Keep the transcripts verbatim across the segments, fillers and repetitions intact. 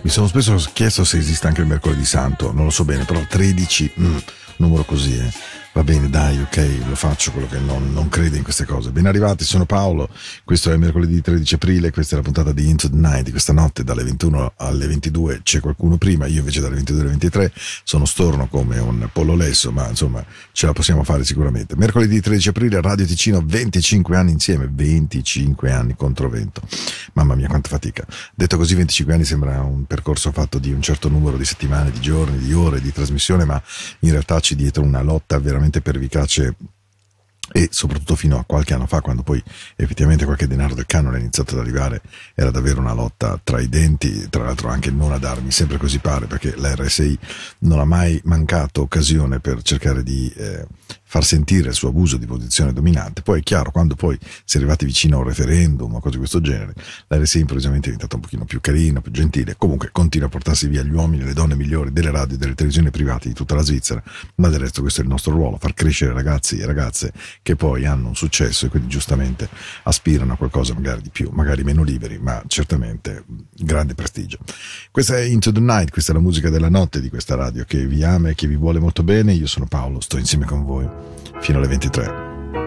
Mi sono spesso chiesto se esiste anche il mercoledì santo, non lo so bene, però tredici, mm, numero così, eh. Va bene, dai, ok, lo faccio, quello che non, non crede in queste cose. Ben arrivati, sono Paolo, questo è mercoledì tredici aprile, questa è la puntata di Into the Night di questa notte, dalle ventuno alle ventidue c'è qualcuno prima, io invece dalle ventidue alle ventitré sono storno come un pollo lesso, ma insomma ce la possiamo fare sicuramente. Mercoledì tredici aprile, Radio Ticino, venticinque anni insieme, venticinque anni contro vento. Mamma mia, quanta fatica. Detto così, venticinque anni sembra un percorso fatto di un certo numero di settimane, di giorni, di ore di trasmissione, ma in realtà c'è dietro una lotta veramente pervicace, e soprattutto fino a qualche anno fa, quando poi effettivamente qualche denaro del canone è iniziato ad arrivare, era davvero una lotta tra i denti, tra l'altro anche non ad armi, sempre così pare, perché l'R S I non ha mai mancato occasione per cercare di eh, far sentire il suo abuso di posizione dominante. Poi è chiaro, quando poi si è arrivati vicino a un referendum o cose di questo genere, l'R S I improvvisamente è diventata un pochino più carina, più gentile, comunque continua a portarsi via gli uomini e le donne migliori delle radio e delle televisioni private di tutta la Svizzera, ma del resto questo è il nostro ruolo, far crescere ragazzi e ragazze che poi hanno un successo e quindi giustamente aspirano a qualcosa magari di più, magari meno liberi, ma certamente grande prestigio. Questa è Into the Night, questa è la musica della notte di questa radio che vi ama e che vi vuole molto bene. Io sono Paolo, sto insieme con voi fino alle ventitré.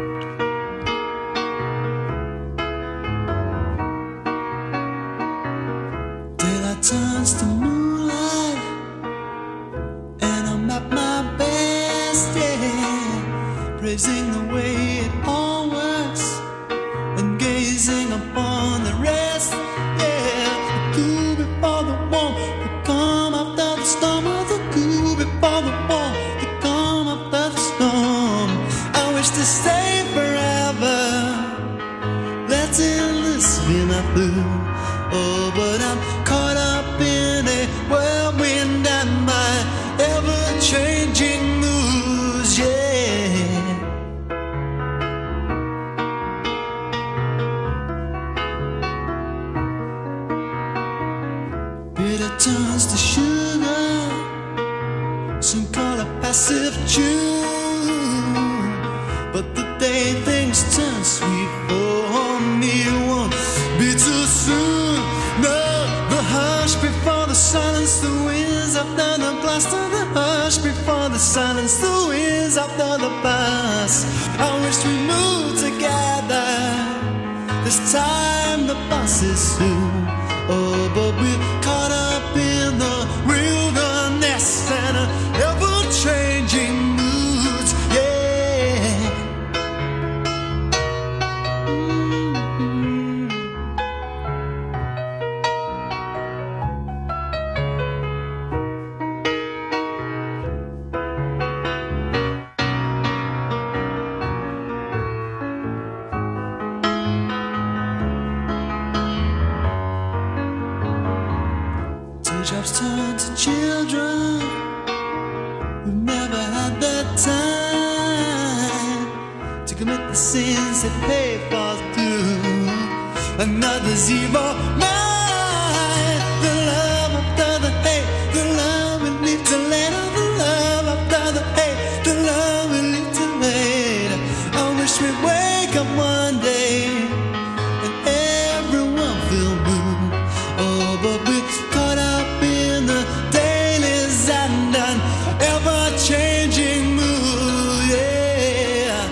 Praising the way it all works and gazing upon the rest. Yeah, the cool before the warm, the calm after the storm. Oh, the cool before the warm, the calm after the storm. I wish to stay forever, letting the spin up through. Oh, but I'm caught up in a whirlwind and my ever-changing moods. Yeah. Turns to sugar, some call it passive tune. But the day things turn sweet for me won't be too soon. No, the hush before the silence, the winds after the blast. Oh, the hush before the silence, the winds after the blast. I wish we moved together, this time the bus is soon. Oh, but we're caught up in the wilderness and ever-changing moods, yeah. Mm-hmm. Teardrops turn to children who've never had the time to commit the sins that pay falls through another's evil mind. The love after the hate, the love we leave to later. The love after the hate, the love we leave to later. I wish we'd wake up one day and everyone feel blue. Oh, but we caught up in the dailies and an ever-changing mood, yeah.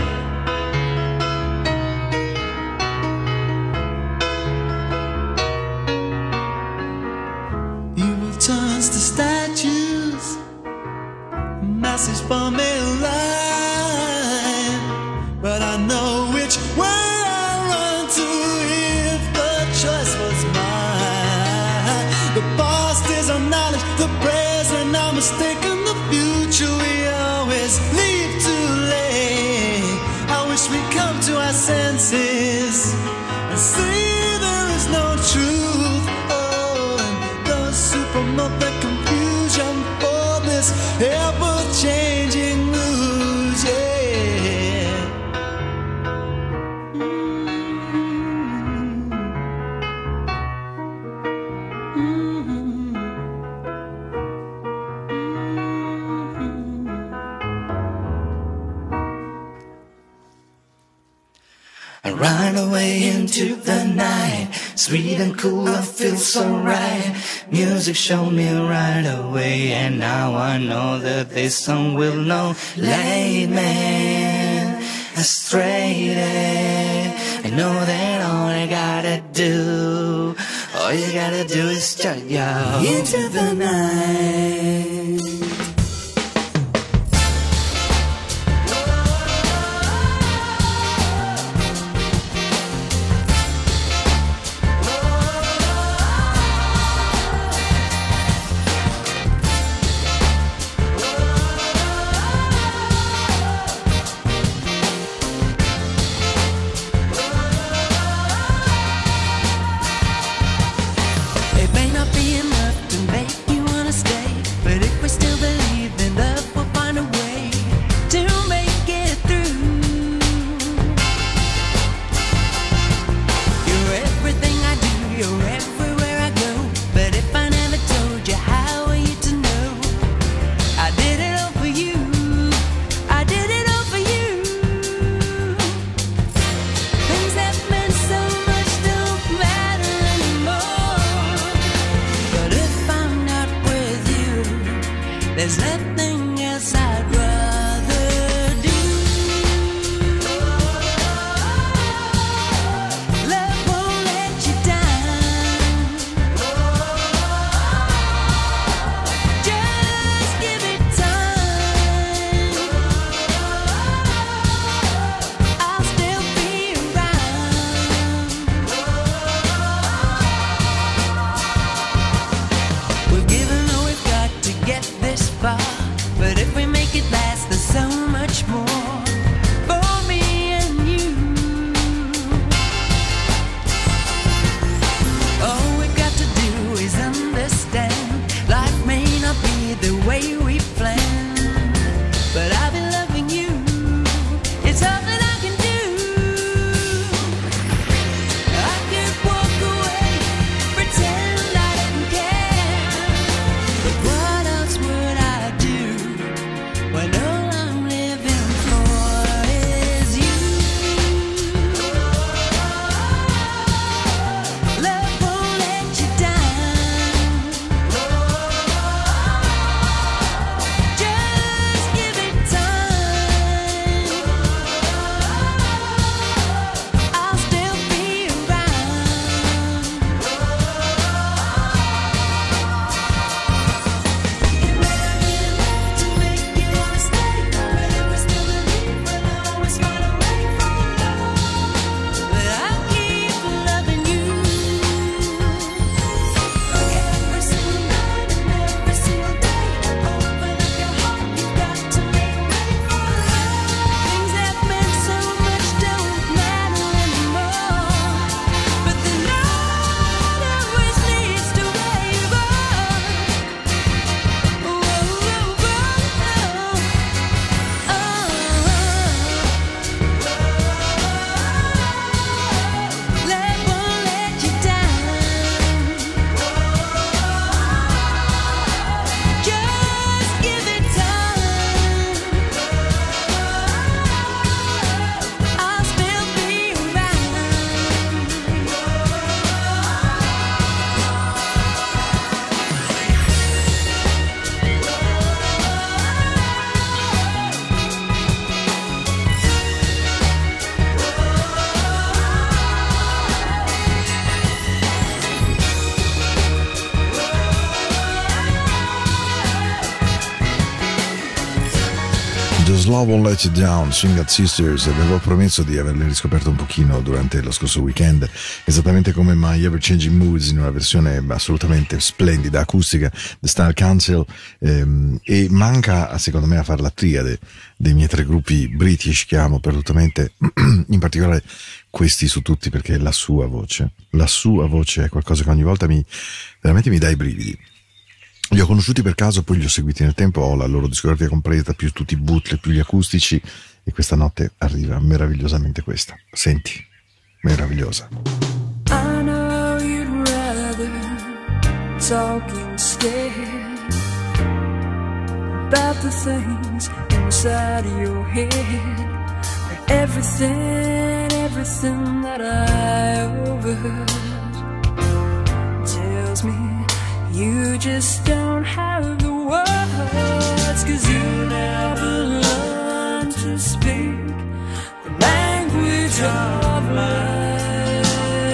Evil turns to statues, masses form a line, but I know which way I run to if the choice was mine. The past is our knowledge, the present our mistaken, the future we always leave too late. I wish we'd come to our senses and see there is no truth. Oh, and those who promote the confusion for this ever-changing news, yeah. Mm-hmm. Mm-hmm. And Run away into the night, sweet and cool, I feel so right. Music showed me right away, and now I know that this song will know. Late man, astray. I know that all I gotta do, all you gotta do is just go into the night. Just Love Won't Let You Down, Swing Out Sisters. Avevo promesso di averle riscoperto un pochino durante lo scorso weekend, esattamente come My Ever Changing Moods in una versione assolutamente splendida, acustica, The Style Council, ehm, e manca secondo me a fare la triade dei miei tre gruppi british che amo perdutamente, in particolare questi su tutti, perché la sua voce, la sua voce è qualcosa che ogni volta mi veramente mi dà i brividi. Li ho conosciuti per caso, poi li ho seguiti nel tempo, ho la loro discografia completa, più tutti i bootleg, più gli acustici, e questa notte arriva meravigliosamente questa. Senti, meravigliosa. I know you'd rather talk instead about the things inside your head, but everything, everything that I overheard tells me you just don't have the words, 'cause you never learned to speak the language of life.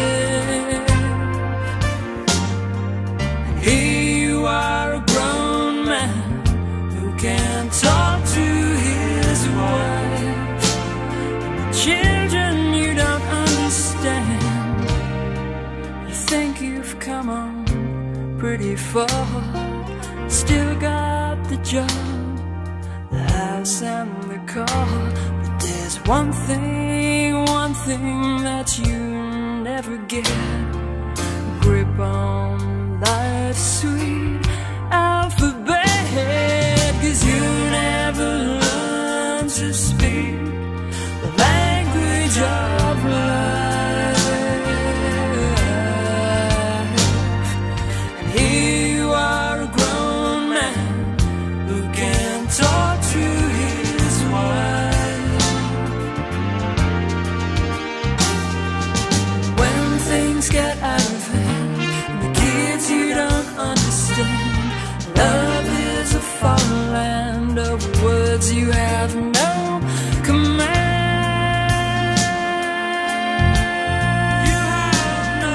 And here you are, a grown man who can talk to his wife. And the children you don't understand, you think you've come on pretty far, still got the job, the house and the car. But there's one thing, one thing that you never get, grip on life's sweet alphabet, 'cause you never learned to speak the language of life. Get out of hand, and the kids you don't understand. Love is a foreign land of words you have no command. You have no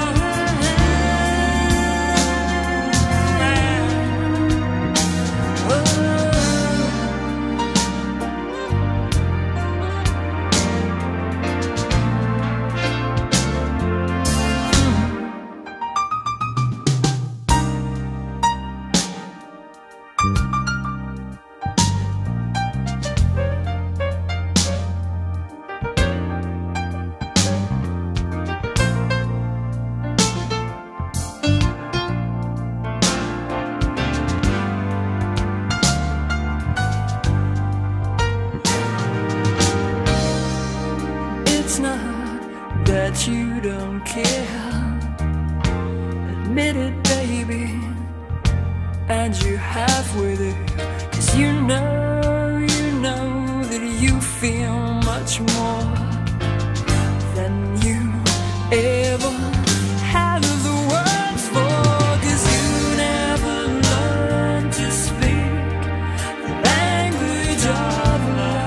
you don't care. Admit it, baby, and you have with it, 'cause you know, you know that you feel much more than you ever had the words for, 'cause you never learned to speak the language of life.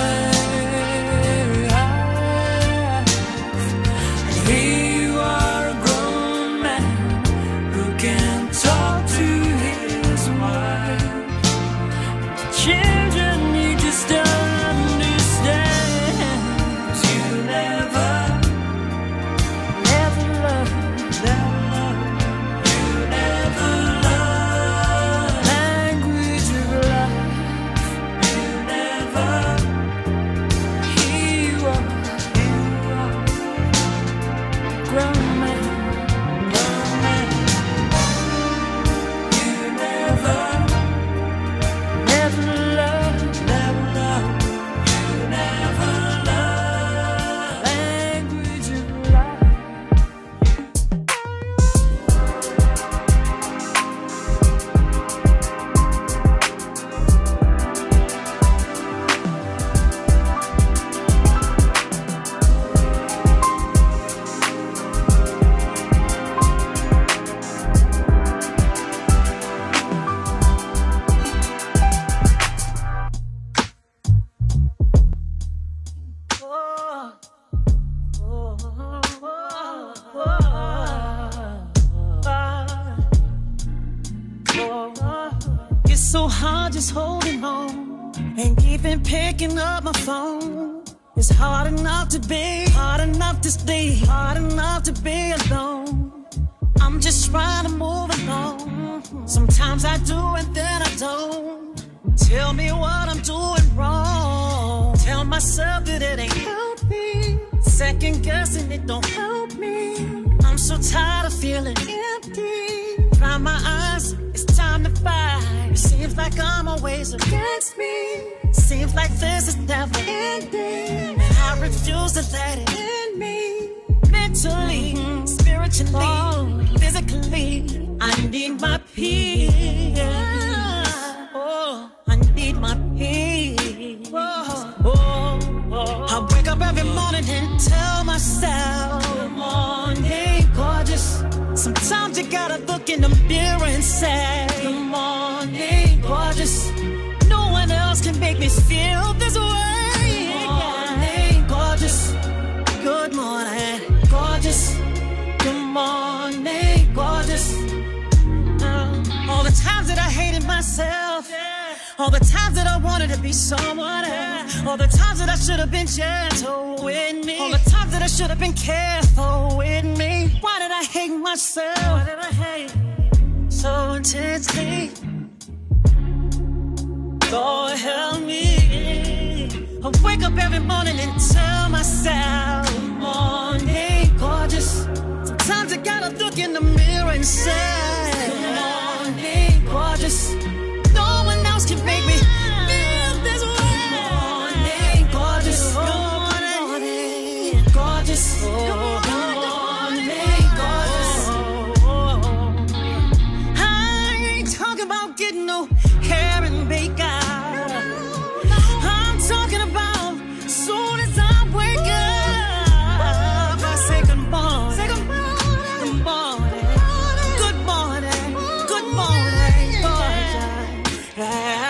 So hard just holding on and even picking up my phone. It's hard enough to be, hard enough to stay, hard enough to be alone. I'm just trying to move along. Sometimes I do and then I don't. Tell me what I'm doing wrong. Tell myself that it ain't healthy. Second guessing it don't help me. I'm so tired of feeling empty. Dry my eyes, it's time to fight. It seems like I'm always against me. Seems like this is never ending, and I refuse to let it end me. Mentally, spiritually, physically, I need my peace. Oh, I need my peace. Oh, oh, oh. I wake up every morning and tell myself feel this way. Morning, gorgeous. Good morning, gorgeous. Good morning, gorgeous. Uh, all the times that I hated myself. All the times that I wanted to be someone else. All the times that I should have been gentle with me. All the times that I should have been careful with me. Why did I hate myself? Why did I hate so intensely? Lord help me. I wake up every morning and tell myself, good morning, gorgeous. Sometimes I gotta look in the mirror and say, good morning, gorgeous. No one else can make me feel this way. Good morning, gorgeous. Good morning, gorgeous. Good morning, gorgeous. I ain't talking about getting no hair and makeup. I'm talking about soon as I wake up, I say good morning. Say good morning. Good morning. Good morning. Good morning, gorgeous.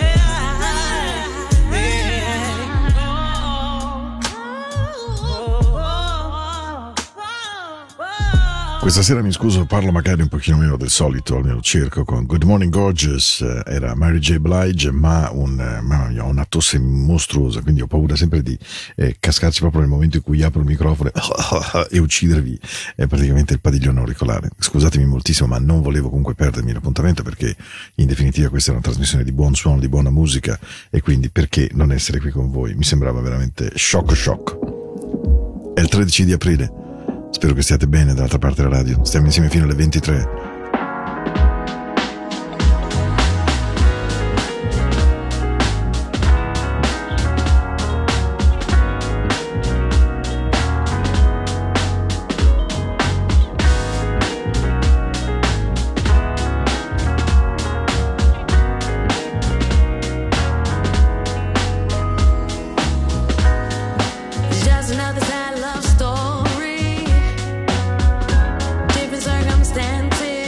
Questa sera mi scuso, parlo magari un pochino meno del solito, almeno cerco con Good Morning Gorgeous, era Mary J. Blige, ma, un, ma ho una tosse mostruosa, quindi ho paura sempre di eh, cascarci proprio nel momento in cui apro il microfono e uccidervi eh, praticamente il padiglione auricolare. Scusatemi moltissimo, ma non volevo comunque perdermi l'appuntamento, perché in definitiva questa è una trasmissione di buon suono, di buona musica, e quindi perché non essere qui con voi? Mi sembrava veramente shock shock. È il tredici di aprile. Spero che stiate bene dall'altra parte della radio. Stiamo insieme fino alle ventitré. Different circumstances.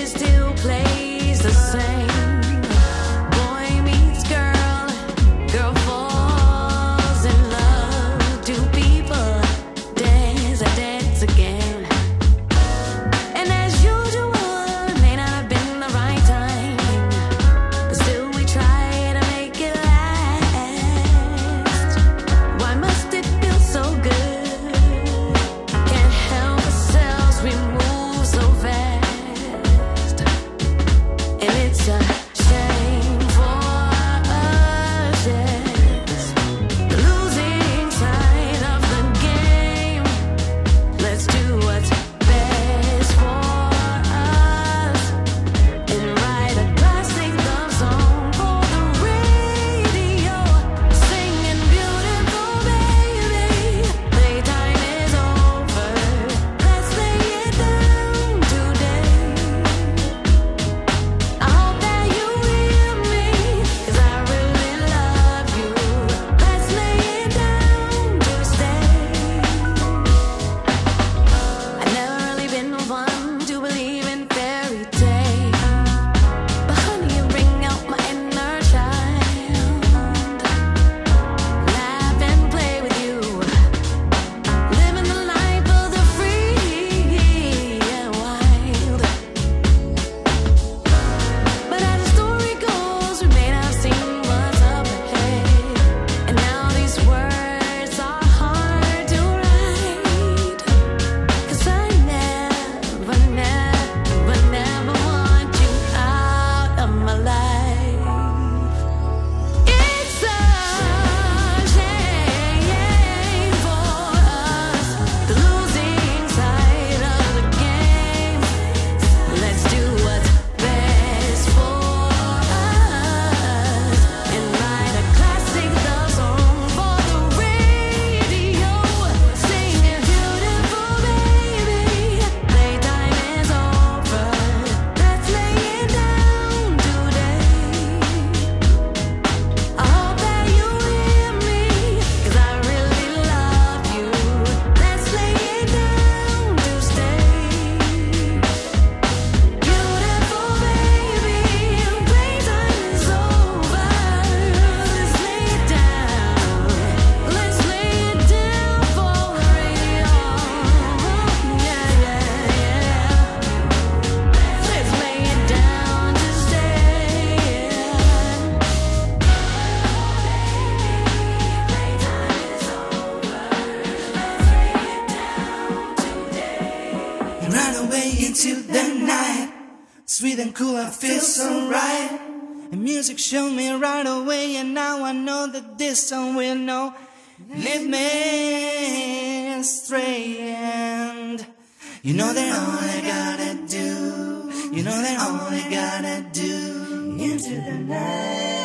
breathing cool, I feel so right. And music showed me right away, and now I know that this song will know. Lead me astray, and you know that all I gotta do, you know that all I gotta do, into the night.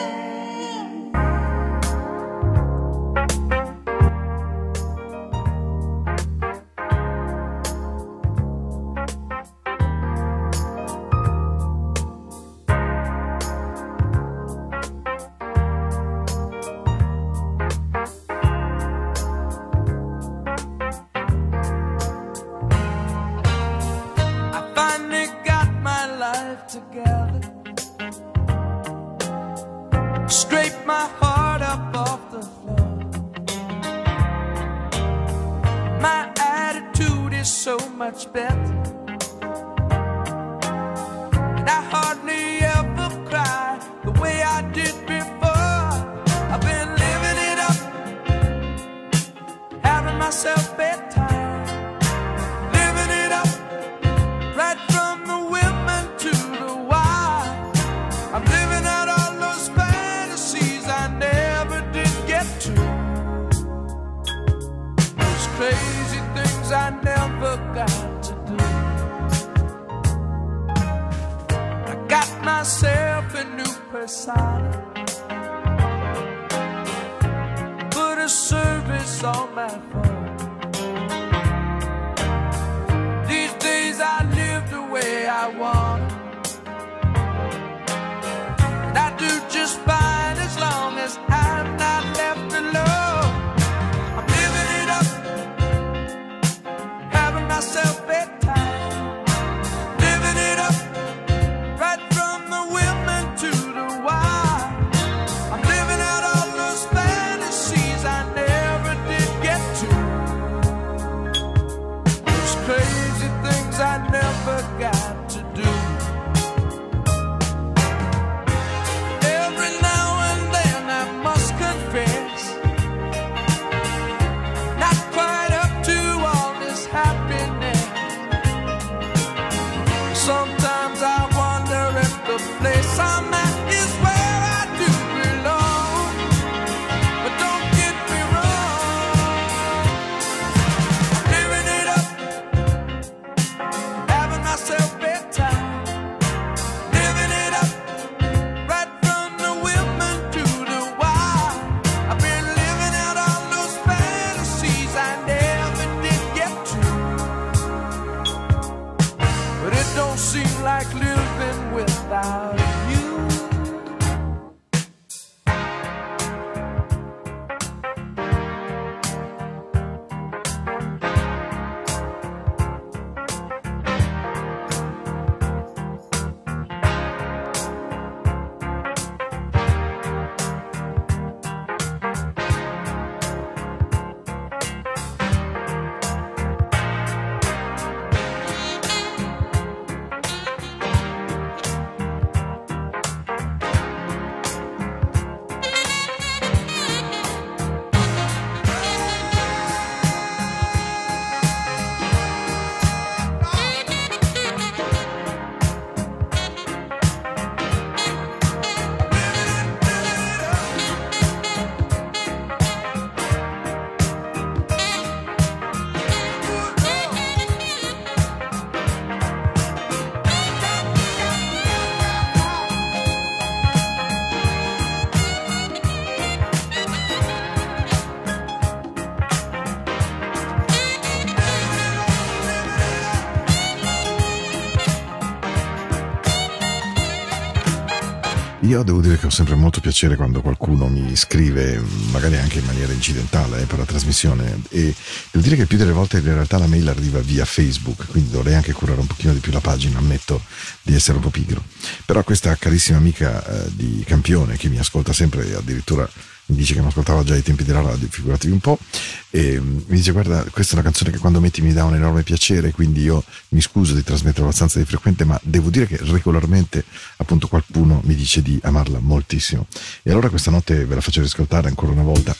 Together, scrape my heart up off the floor. My attitude is so much better, and I hardly ever cry the way I did before. I've been living it up, having myself bedtime, living it up right from the women to I'm living out all those fantasies I never did get to. Those crazy things I never got to do. I got myself a new persona, put a service on my phone. These days I live the way I want, and I do just fine as long as I'm not left alone. I'm living it up, having myself bedtime, living it up, right from the women to the wild. I'm living out all those fantasies I never did get to. Those crazy things I never got to do. Sometimes I wonder if the place I'm at is where I do belong. But don't get me wrong, I'm living it up, having myself bedtime, living it up, right from the women to the wild. I've been living out all those fantasies I never did get to. But it don't seem like living without you. Io devo dire che ho sempre molto piacere quando qualcuno mi scrive, magari anche in maniera incidentale, eh, per la trasmissione, e devo dire che più delle volte in realtà la mail arriva via Facebook, quindi dovrei anche curare un pochino di più la pagina, ammetto di essere un po' pigro. Però questa carissima amica eh, di Campione, che mi ascolta sempre e addirittura mi dice che mi ascoltava già ai tempi della radio, figuratevi un po', e mi dice: guarda, questa è una canzone che quando metti mi dà un enorme piacere, quindi io mi scuso di trasmettere abbastanza di frequente, ma devo dire che regolarmente appunto qualcuno mi dice di amarla moltissimo. E allora questa notte ve la faccio riscoltare ancora una volta,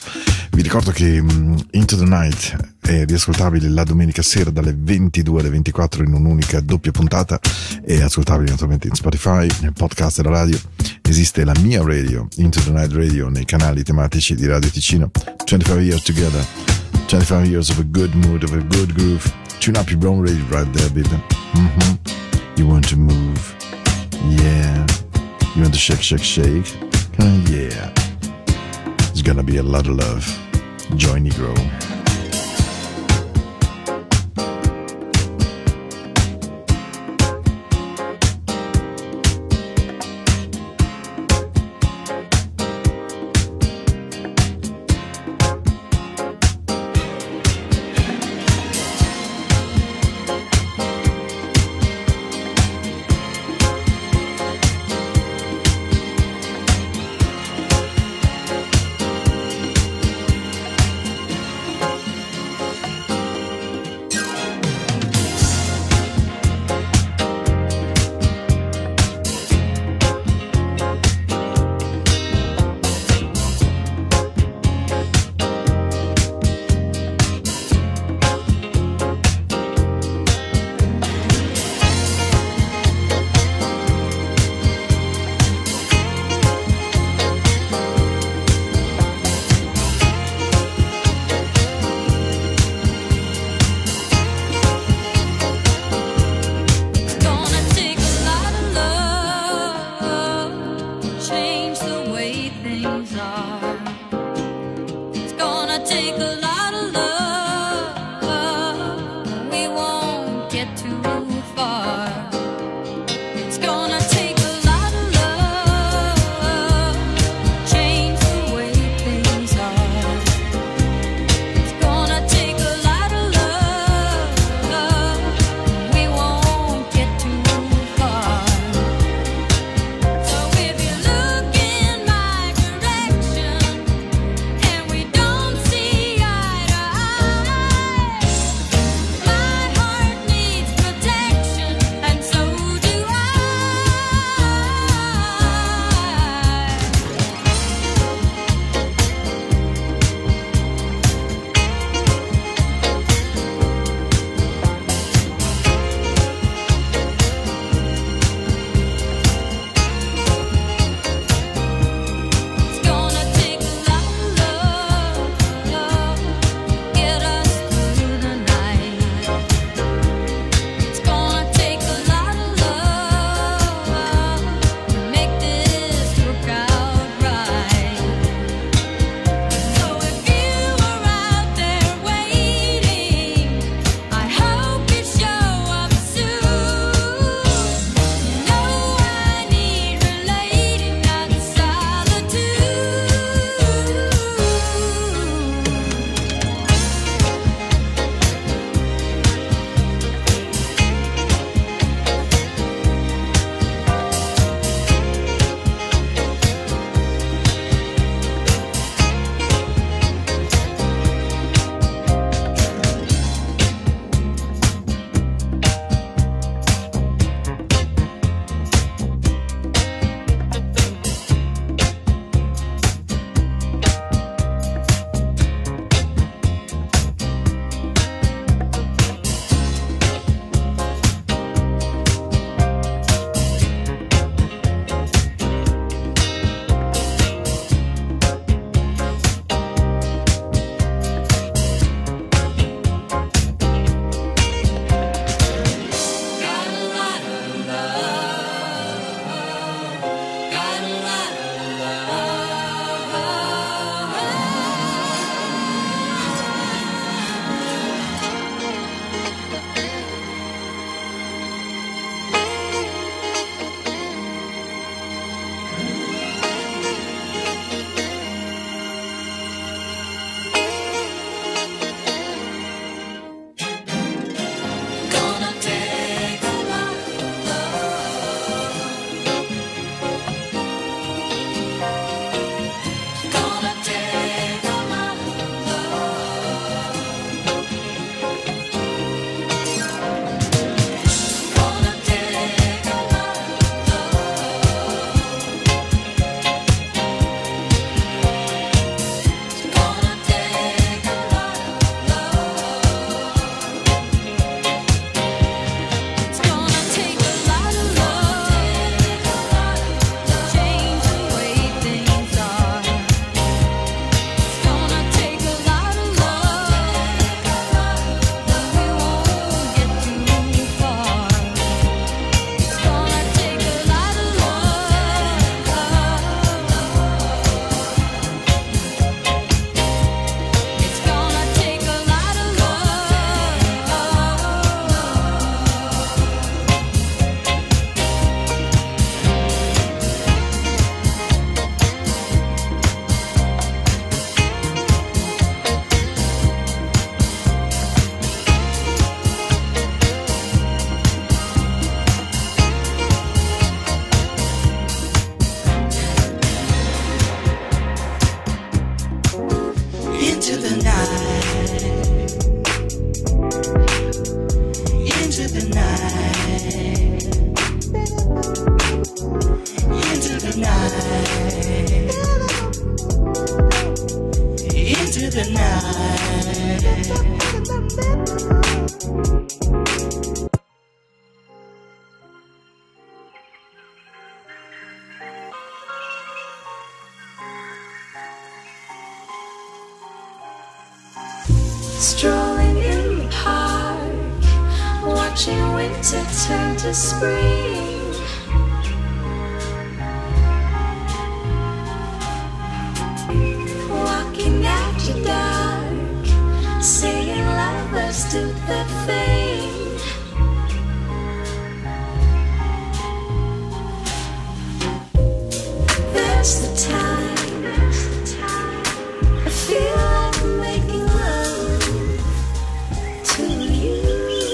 Vi ricordo che um, Into the Night è riascoltabile la domenica sera dalle ventidue alle ventiquattro in un'unica doppia puntata, è ascoltabile naturalmente in Spotify, nel podcast della radio. Esiste la mia radio, Into the Night Radio, nei canali tematici di Radio Ticino. twenty-five years together, twenty-five years of a good mood, of a good groove. Tune up your own radio right there, baby. Mm-hmm. You want to move, yeah. You want to shake, shake, shake, uh, yeah. It's gonna be a lot of love. Joy Negro. So if you look in my direction, the night. Strolling in the park, watching winter turn to spring. Walking after dark, seeing lovers do their thing. There's the time, I feel like making love to you.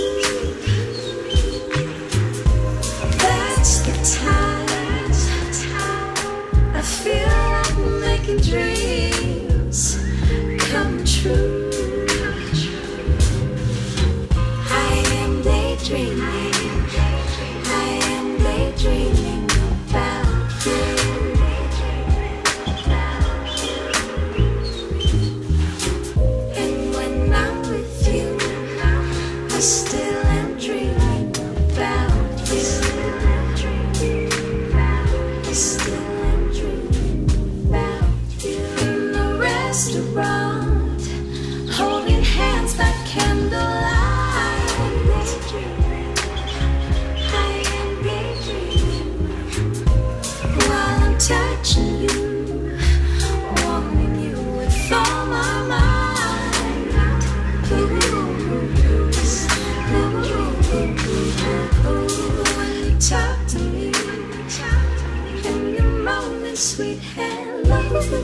That's the time, I feel like making dreams come true. I am daydreaming, I am daydreaming about you. And when I'm with you, I still am dreaming about you. I still am dreaming about you. In the restaurant, holding hands by candlelight. I am daydreaming while I'm touching you, wanting you with all my mind. Ooh, when you talk to me, and you're moaning sweet hello.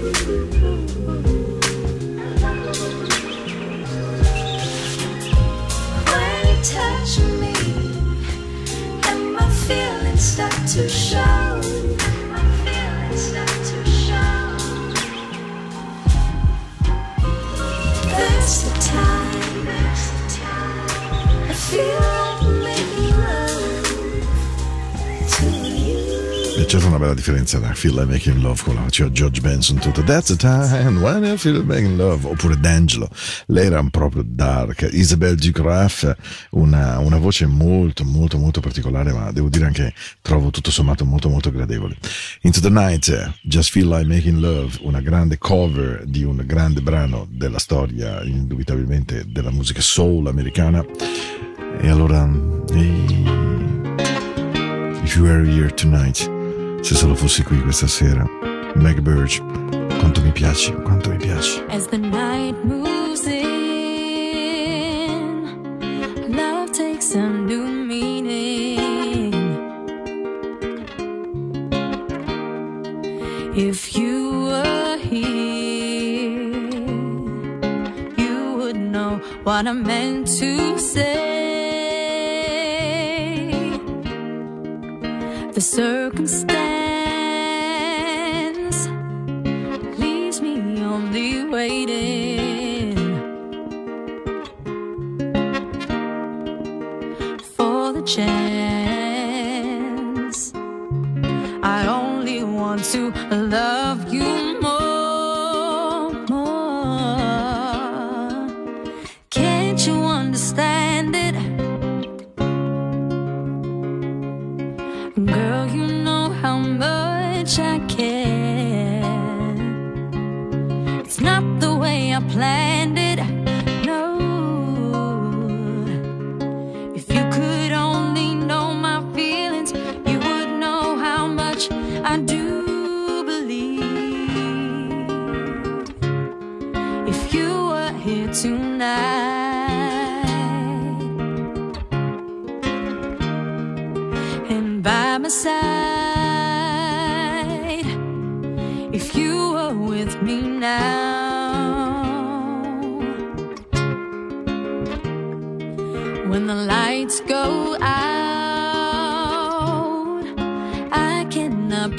When you touch me, and my feelings start to show. My feelings start to show. That's the time, that's the time I feel like making love to you. E c'era una bella differenza da Feel Like Making Love con la faceva George Benson tutto That's the time when I feel like making love, oppure D'Angelo, lei era proprio dark. Isabelle Ducraf, una, una voce molto molto molto particolare, ma devo dire anche trovo tutto sommato molto molto gradevole. Into the Night, Just Feel Like Making Love, una grande cover di un grande brano della storia indubitabilmente della musica soul americana. E allora hey, If You Were Here Tonight, se solo fossi qui questa sera, Meg Burge, quanto mi piaci, quanto mi piaci. As the night moves in, love takes a new meaning. If you were here, you would know what I meant to say. The circumstance leaves me only waiting for the chance. I only want to love you more, more. Can't you understand it? Girl, you know how much I care. It's not the way I planned it, no. If you could only know my feelings, you would know how much I do believe. If you were here tonight, by my side, if you were with me now, when the lights go out, I cannot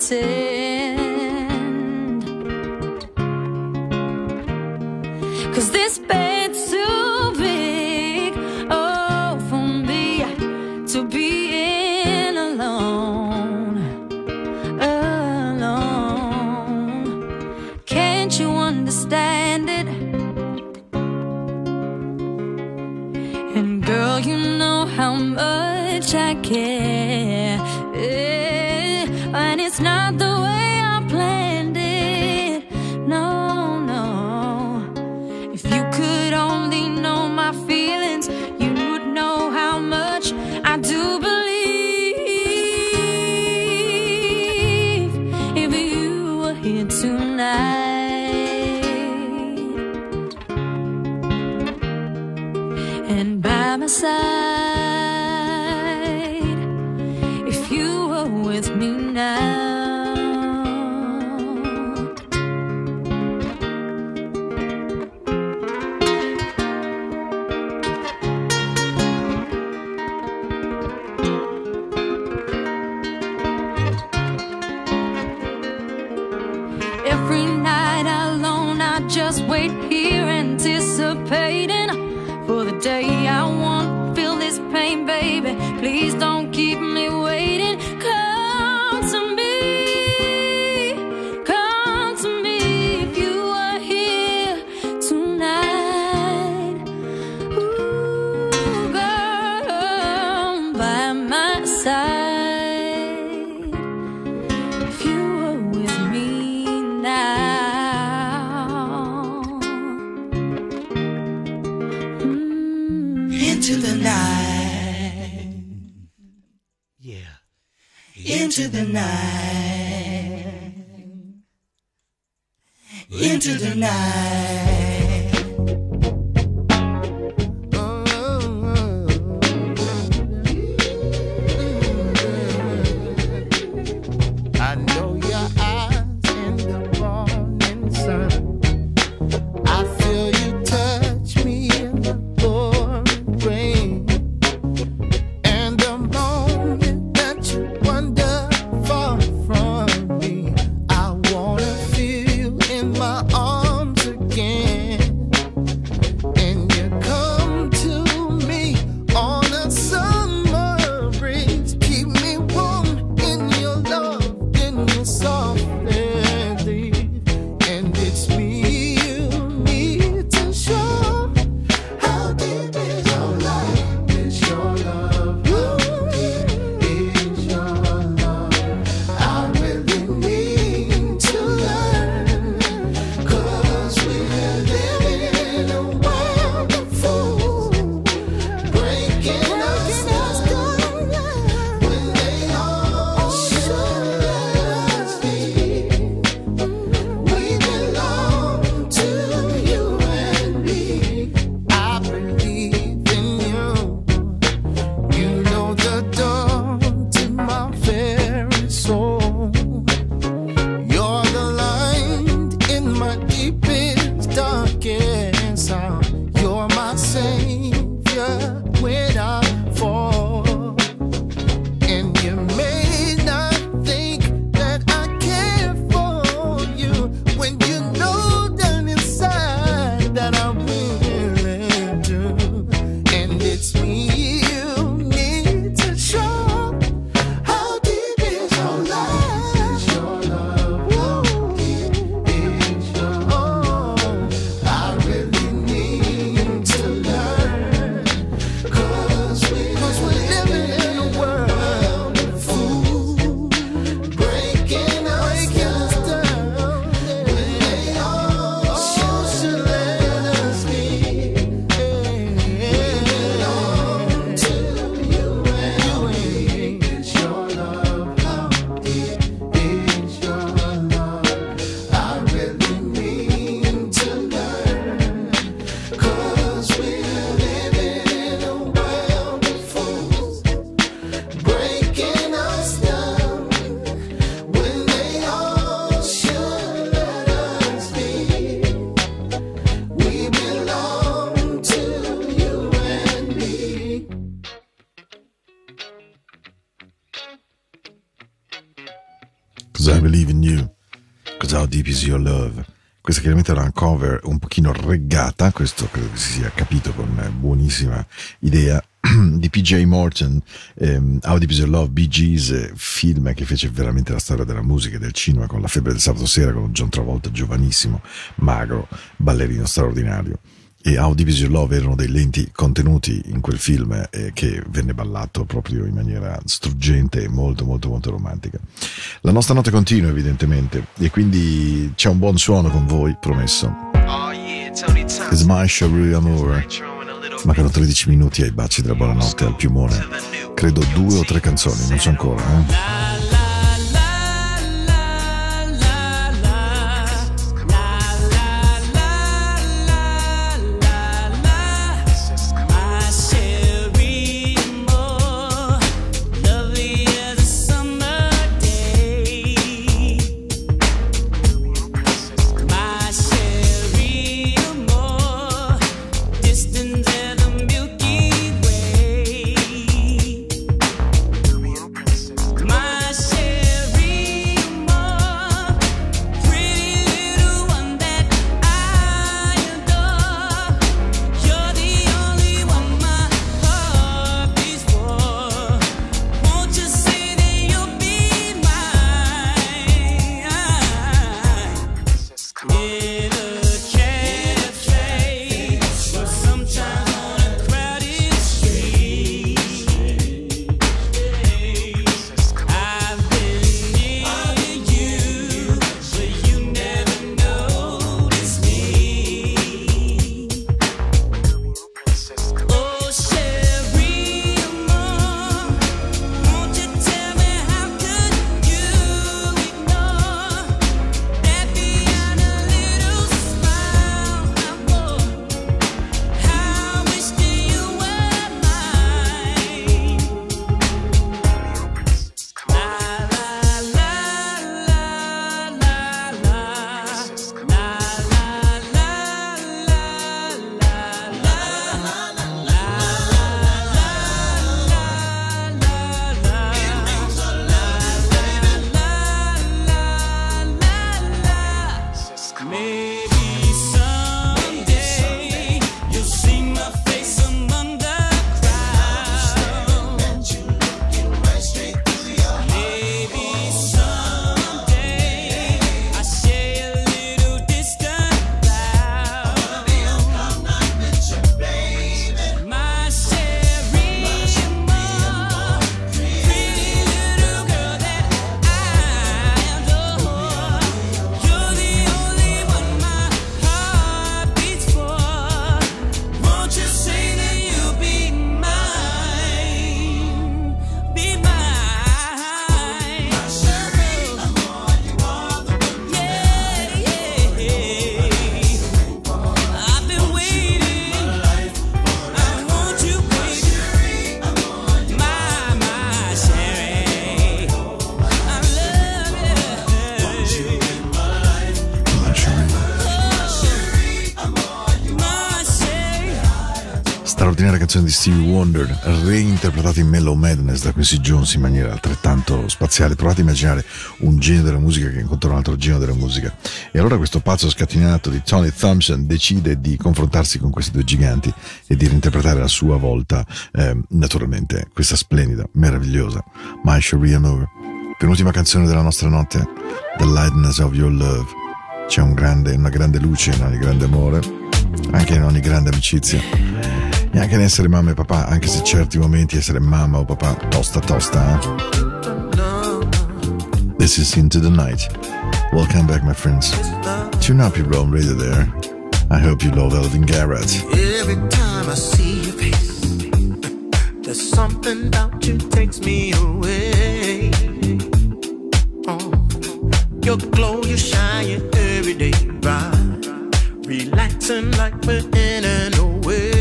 pretend, 'cause this bed's too big, oh, for me to be alone, alone. Can't you understand it? how much I care. Yeah. And it's not the way I planned it. No, no. If you could only know my feelings, you would know how much I do believe. If you were here tonight and by my side, if you were with me now. Every night alone I just wait here anticipating for the day I won't feel this pain, baby. Please don't keep me waiting. Come to me, come to me if you are here tonight. Ooh, girl, by my side, if you were with me now. Into the night, yeah, into the night, into the night. I know your eyes in the morning sun. I feel you touch me in the pouring rain. And the moment that you wander far from me, I wanna feel you in my arms again. And you come to me on a summer breeze, keep me warm in your love, in your soft leave. And it's me you need to show. How deep is your love? Is your love? How deep is your love? I really need to learn, 'cause we're living in a world of fools, breaking us down when they all should let us be. We belong to you and me. I believe in you. You know the door to my very soul. You're the light in my deepest, darkest hour. You're my savior when I fall. And you may not think that I care for you when you know down inside that I really do. And it's me you need to show. How deep is your love? Is your love? How deep is your love? I really need to learn, 'cause we, 'cause we're living in a world of fools, breaking us down when they all should let us be. We belong to you and me. Is your love? How deep is your love? I really need to learn, 'cause we're living in a world of fools, breaking us down when they all should let us be. We belong to you and me. Cause I Believe in You, Cause How Deep Is Your Love. Questa chiaramente era una cover un pochino reggata, questo credo che si sia capito con buonissima idea, di P J Morton, ehm, How Deep Is Your Love, Bee Gees, film che fece veramente la storia della musica e del cinema, con La febbre del sabato sera, con John Travolta giovanissimo, magro, ballerino straordinario. e How Deep Is Your Love erano dei lenti contenuti in quel film eh, che venne ballato proprio in maniera struggente e molto molto molto romantica. La nostra notte continua evidentemente e quindi c'è un buon suono con voi, promesso. It's my Cherie Amour. Mancano tredici minuti ai baci della buonanotte al piumone, credo due o tre canzoni, non so ancora eh? Straordinaria canzone di Stevie Wonder, reinterpretata in Mellow Madness da Quincy Jones in maniera altrettanto spaziale. Provate a immaginare un genio della musica che incontra un altro genio della musica. E allora questo pazzo scatinato di Tony Thompson decide di confrontarsi con questi due giganti e di reinterpretare a sua volta, eh, naturalmente, questa splendida, meravigliosa My Cherie Amour. Penultima canzone della nostra notte, The Lightness of Your Love. C'è un grande, una grande luce in ogni grande amore, anche in ogni grande amicizia. E anche nell'essere mamma e papà, anche se certi momenti essere mamma o papà tosta tosta, eh? This is Into the Night. Welcome back, my friends. Tune up your own radio there. I hope you love Elvin Garrett. Every time I see your face, there's something about you takes me away. Oh, your glow, you shine, you every day bright, relaxing like we're in an oasis.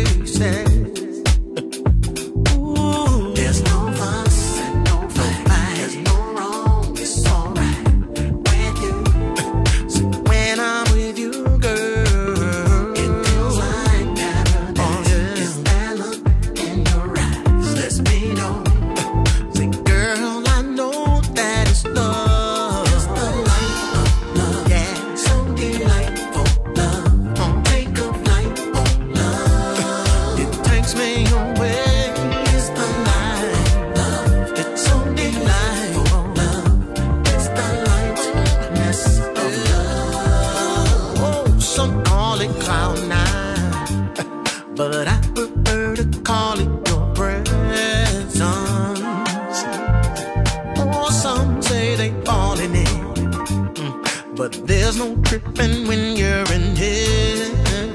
Ooh, there's no fuss and no fight, there's no wrong, it's alright with you. So when I'm with you, girl, it feels like paradise. Oh, yeah. It's that look in your eyes lets me know. Say, girl, I know that it's love. It's the light of love, yeah, so delightful love. Oh, take a flight but I prefer to call it your presence. Oh, some say they falling in, mm, but there's no tripping when you're in heaven.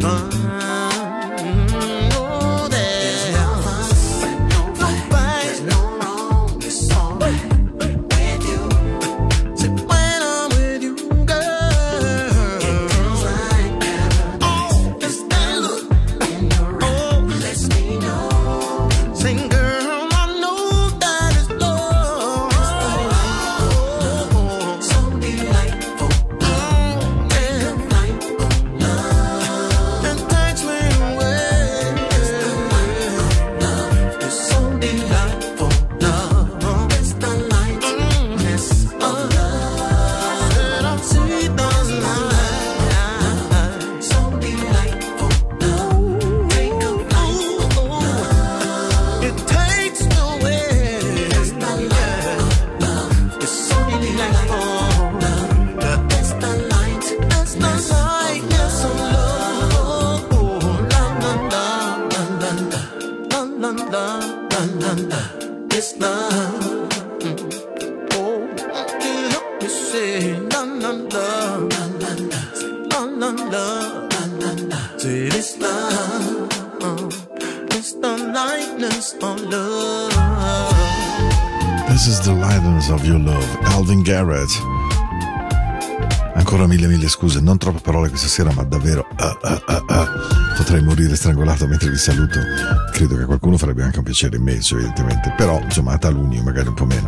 This is the lightness of your love, Alvin Garrett. Ancora mille mille scuse, non troppe parole questa sera, ma davvero uh, uh, uh, uh. potrei morire strangolato mentre vi saluto. Credo che qualcuno farebbe anche un piacere immenso, evidentemente, però insomma a taluni magari un po' meno.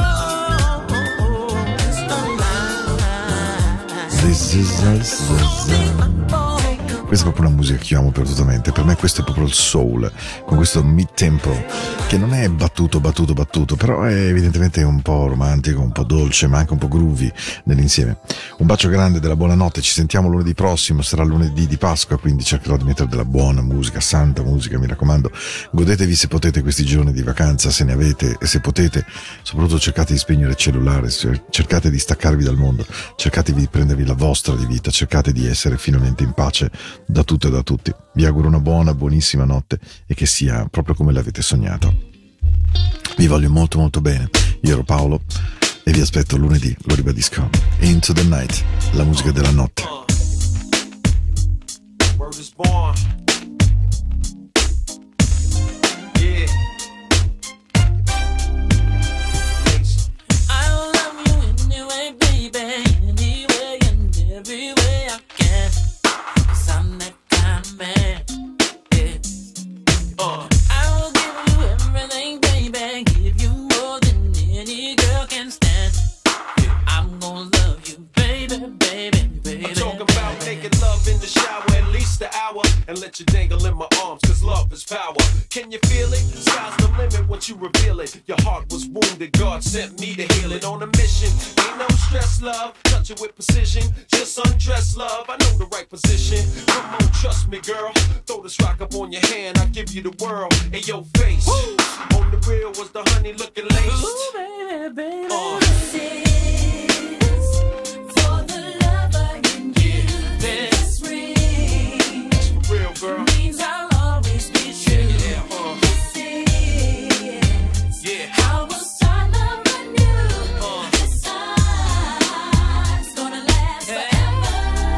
This is us, us, us. Questa è proprio una musica che io amo perdutamente. Per me questo è proprio il soul, con questo mid-tempo che non è battuto, battuto, battuto, però è evidentemente un po' romantico, un po' dolce, ma anche un po' groovy nell'insieme. Un bacio grande, della buonanotte, ci sentiamo lunedì prossimo, sarà lunedì di Pasqua, quindi cercherò di mettere della buona musica, santa musica, mi raccomando. Godetevi se potete questi giorni di vacanza, se ne avete, e se potete, soprattutto cercate di spegnere il cellulare, cercate di staccarvi dal mondo, cercate di prendervi la vostra di vita, cercate di essere finalmente in pace da tutto e da tutti. Vi auguro una buona, buonissima notte e che sia proprio come l'avete sognato. Vi voglio molto molto bene. Io ero Paolo e vi aspetto lunedì, lo ribadisco. Into the Night, la musica della notte. Word is born. Yeah. I love you anyway, baby, anyway and every way I can. I'm that kind of man, yeah. uh. I will give you everything, baby, give you more than any girl can stand, yeah. I'm gonna love you, baby, baby, baby. I'm talking about making love in the shower at least an hour, and let you dangle in my arms, cause love is power. Can you feel it? Sky's the limit once you reveal it. Your heart was wounded, God sent me to heal it. On a mission, ain't no stress, love. Touch it with precision, just undress, love. I know the right position. Come on, trust me, girl. Throw this rock up on your hand, I'll give you the world. In your face, woo! On the real was the honey looking laced. Ooh, baby, baby. Uh. This is for the lover in you. This ring For real, girl. means I'll always be true. Yeah, uh. This is Yeah. how we'll start loving you. Uh. This time's gonna last forever.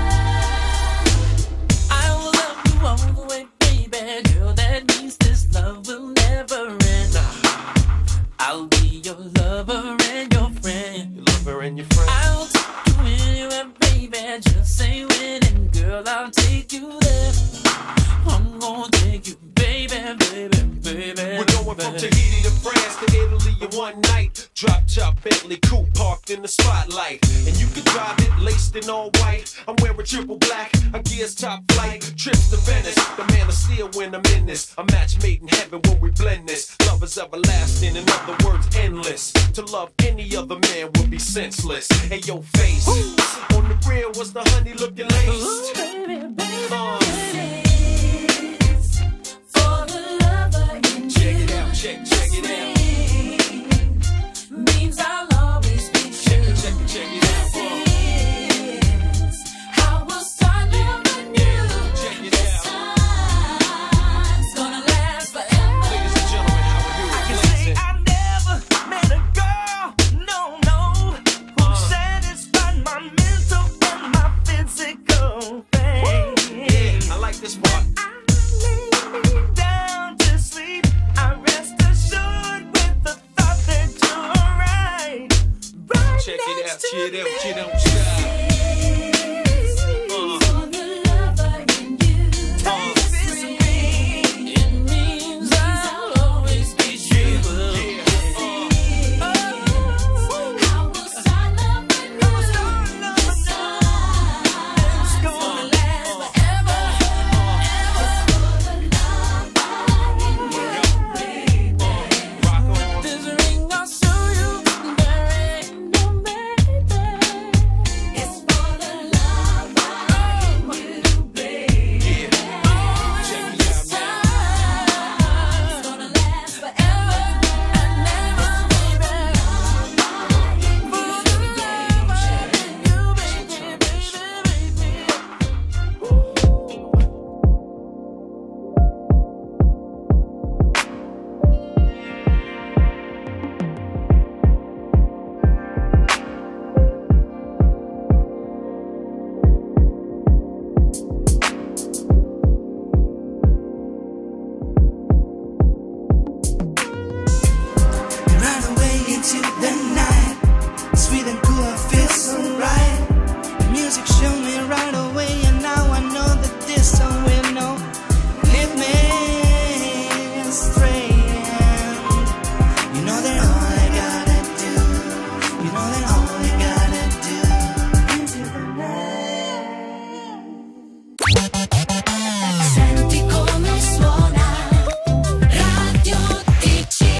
I will love you all the way, baby, girl, that means this love will never end. I'll be your lover and your friend. Your lover and your friend. I'll take you anywhere, baby, just say when, and girl, I'll take you there. I'm gonna take you, baby, baby, baby. We're going from Tahiti to France to Italy in one night. Drop top Bentley coupe parked in the spotlight, and you can drive it laced in all white. I'm wearing triple black, I gears top flight. Trips to Venice, the man of steel when I'm in this. A match made in heaven when we blend this. Love is everlasting, in other words, endless. To love any other man would be senseless. Hey, yo, face on the real was the honey looking laced. Ooh, baby, baby. Uh, This is for the lover in you. check it out, check, check it out. Means I'll always be Check true. it, check it, check it out. Uh, This is how we'll start loving you. check it This out. niggas want